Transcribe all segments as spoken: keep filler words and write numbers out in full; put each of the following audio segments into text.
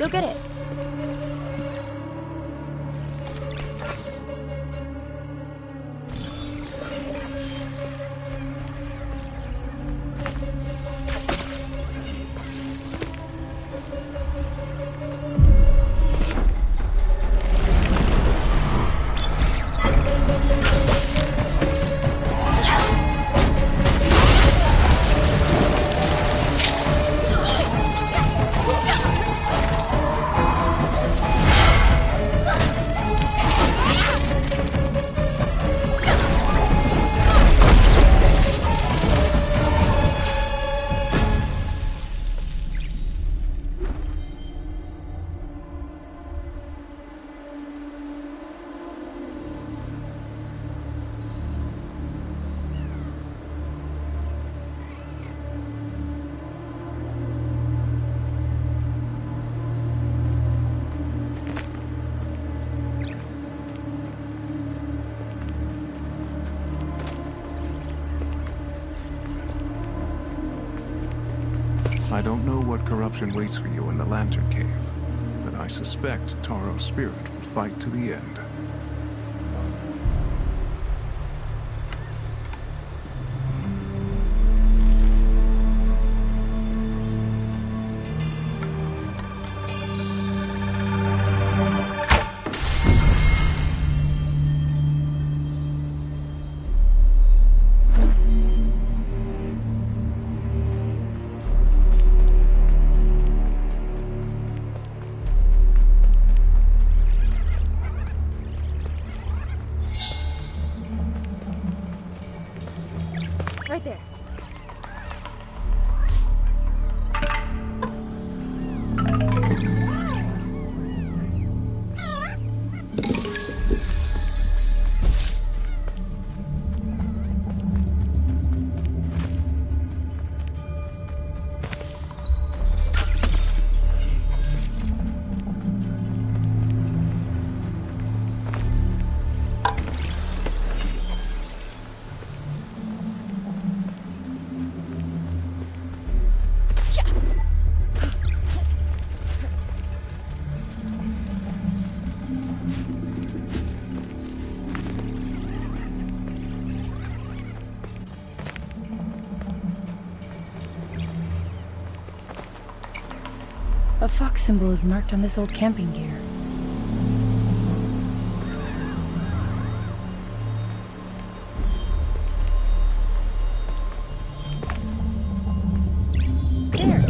Go get it. I don't know what corruption waits for you in the Lantern Cave, but I suspect Taro's spirit will fight to the end. Right there. A fox symbol is marked on this old camping gear. There.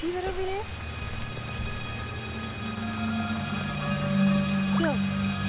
See that over there? Yo.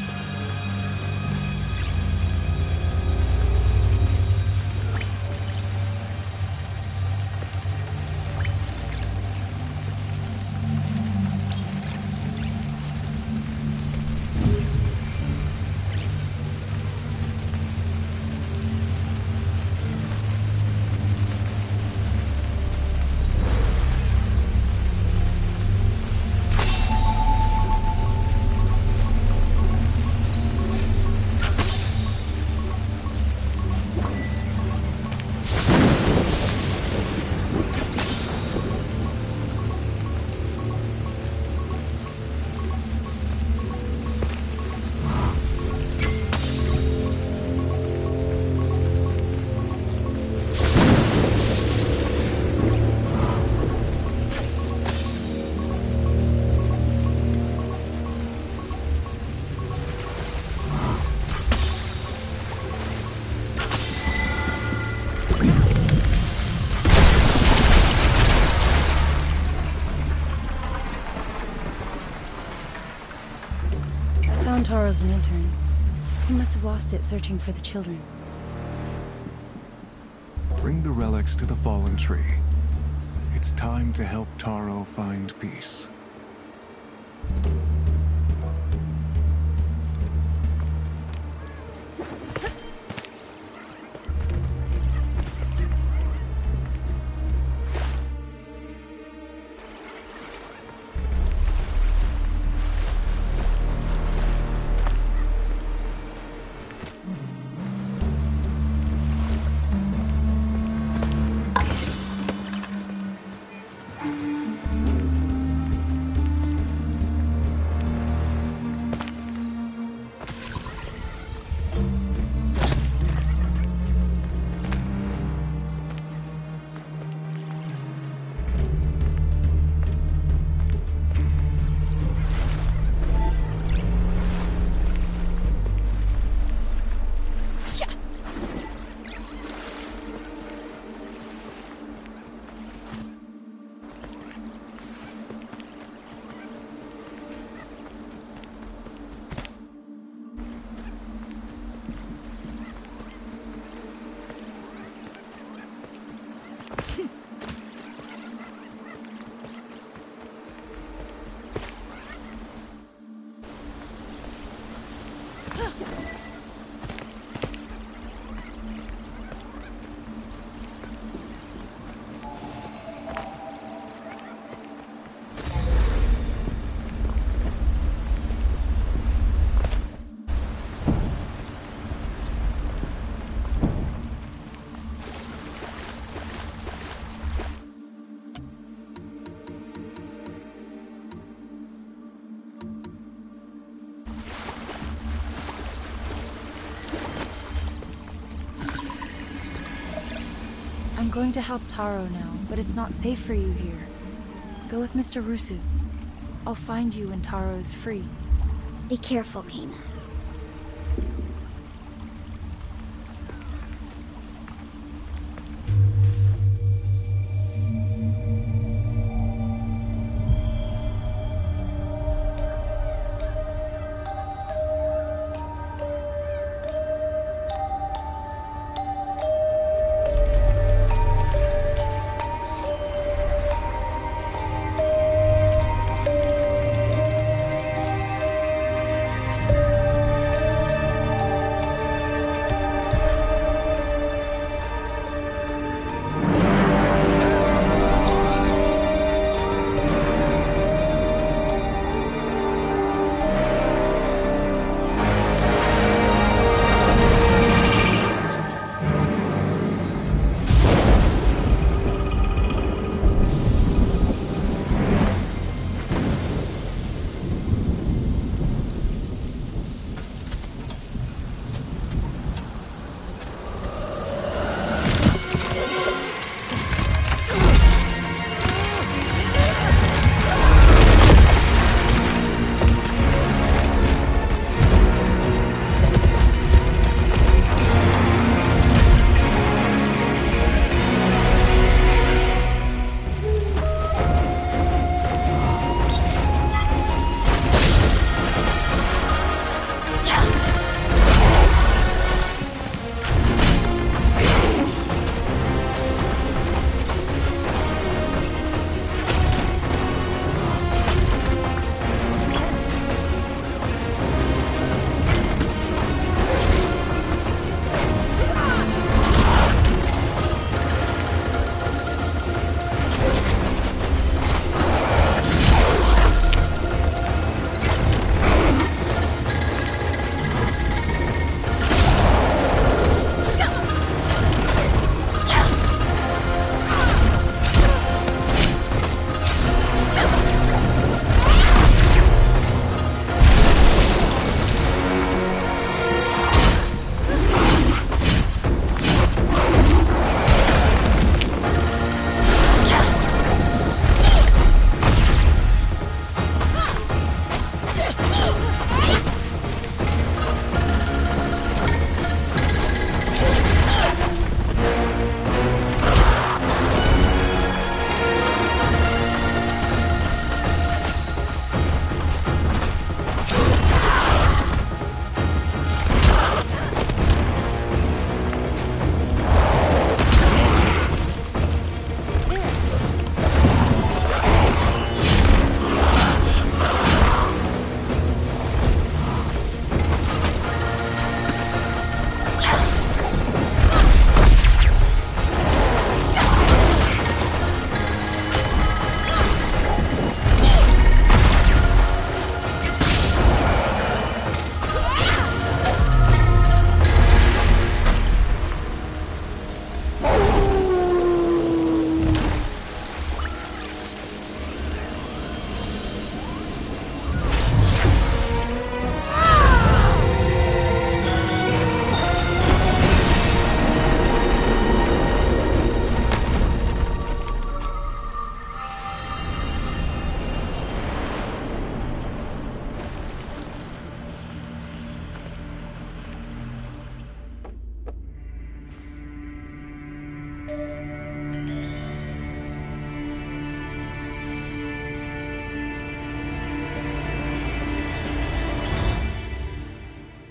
Taro's lantern. He must have lost it searching for the children. Bring the relics to the fallen tree. It's time to help Taro find peace. I'm going to help Taro now, but it's not safe for you here. Go with Mister Rusu. I'll find you when Taro is free. Be careful, Kena.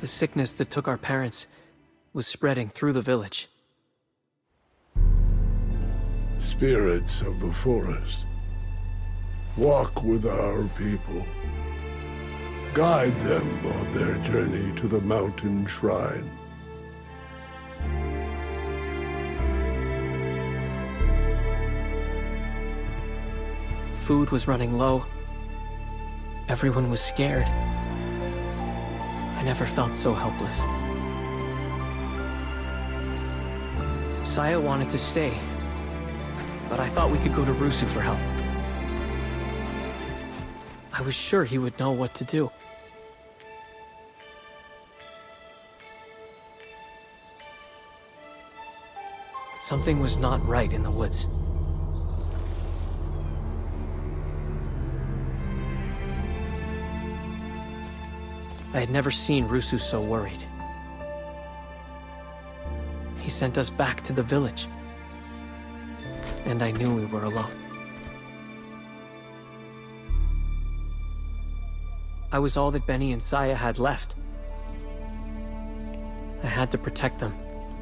The sickness that took our parents was spreading through the village. Spirits of the forest, walk with our people. Guide them on their journey to the mountain shrine. Food was running low. Everyone was scared. I never felt so helpless. Saya wanted to stay, but I thought we could go to Rusu for help. I was sure he would know what to do. But something was not right in the woods. I had never seen Rusu so worried. He sent us back to the village, and I knew we were alone. I was all that Benny and Saya had left. I had to protect them.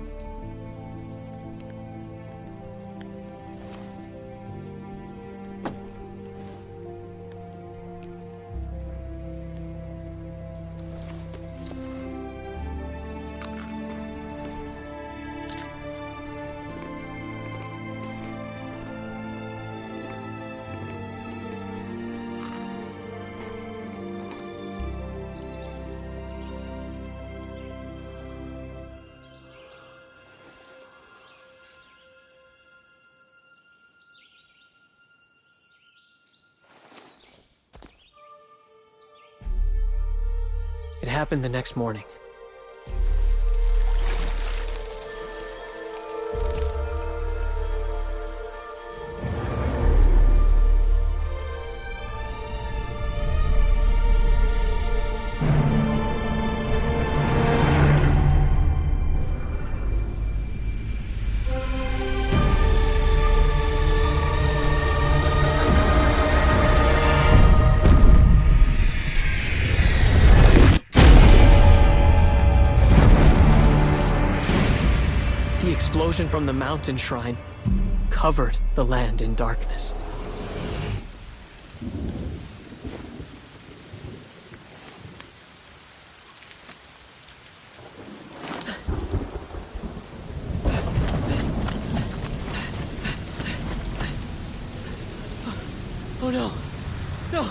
It happened the next morning. The explosion from the mountain shrine covered the land in darkness. Oh no! No!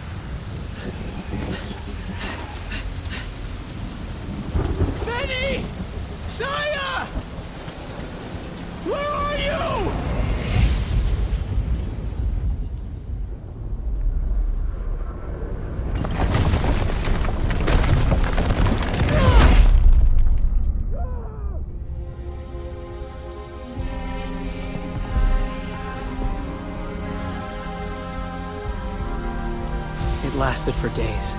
Benny! Saya! Where are you? It lasted for days.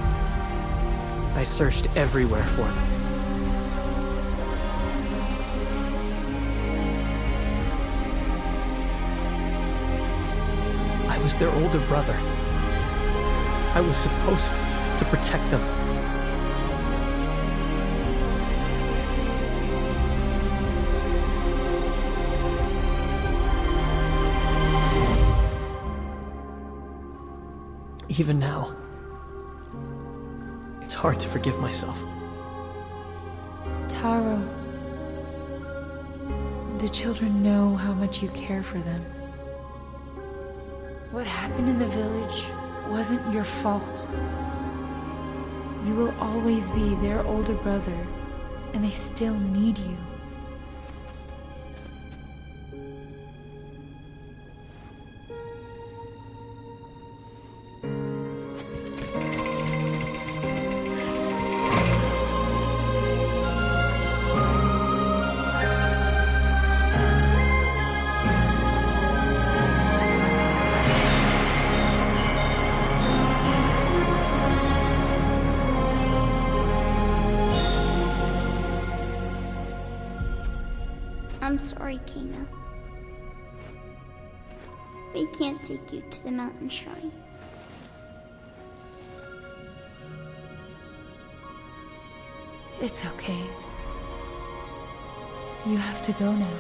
I searched everywhere for them. I was their older brother. I was supposed to protect them. Even now, it's hard to forgive myself. Taro, the children know how much you care for them. What happened in the village wasn't your fault. You will always be their older brother, and they still need you. I'm sorry, Kina. We can't take you to the mountain shrine. It's okay. You have to go now.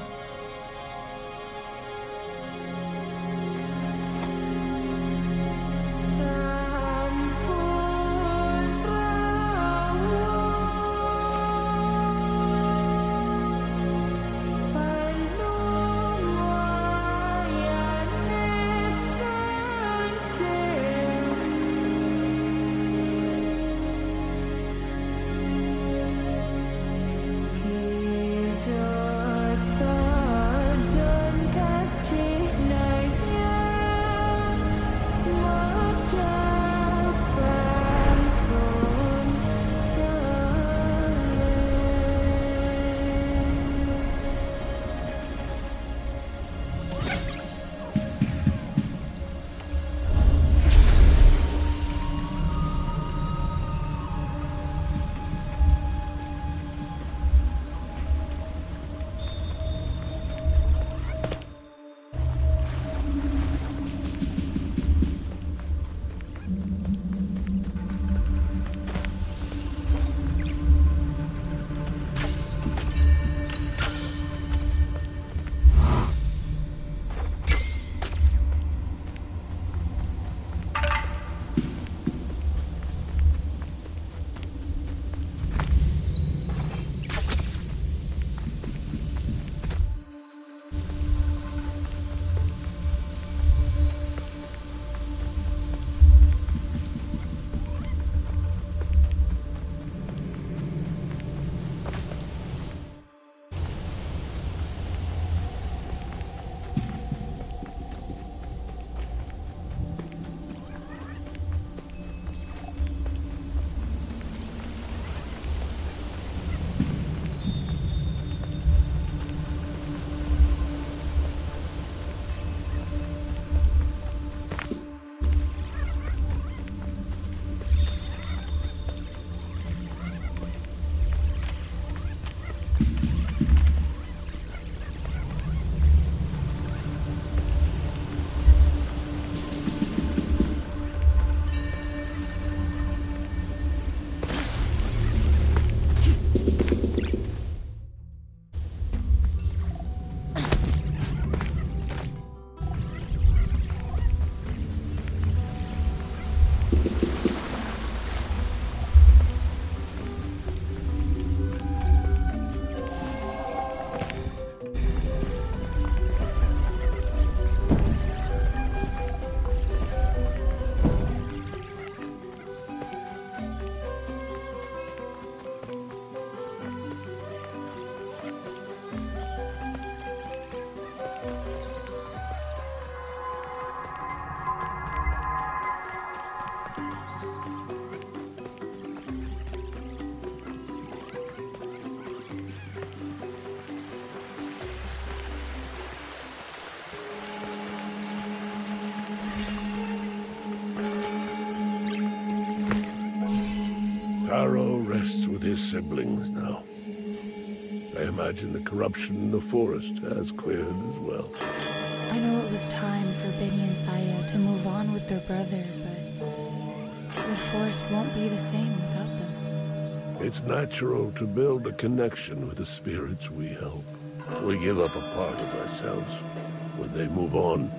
Taro rests with his siblings now. I imagine the corruption in the forest has cleared as well. I know it was time for Benny and Saya to move on with their brother, but the forest won't be the same without them. It's natural to build a connection with the spirits we help. We give up a part of ourselves when they move on.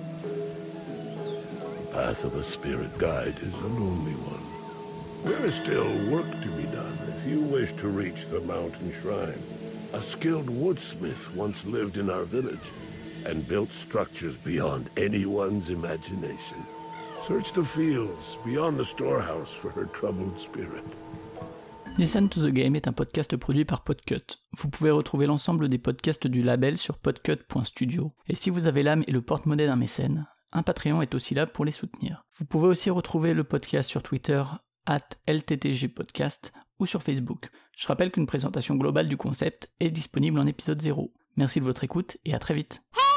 The path of a spirit guide is a lonely one. There is still work to be done if you wish to reach the mountain shrine. A skilled woodsmith once lived in our village and built structures beyond anyone's imagination. Search the fields beyond the storehouse for her troubled spirit. Listen to the Game est un podcast produit par Podcut. Vous pouvez retrouver l'ensemble des podcasts du label sur podcut point studio. Et si vous avez l'âme et le porte-monnaie d'un mécène, un Patreon est aussi là pour les soutenir. Vous pouvez aussi retrouver le podcast sur Twitter arobase L T T G podcast ou sur Facebook. Je rappelle qu'une présentation globale du concept est disponible en épisode zéro. Merci de votre écoute et à très vite.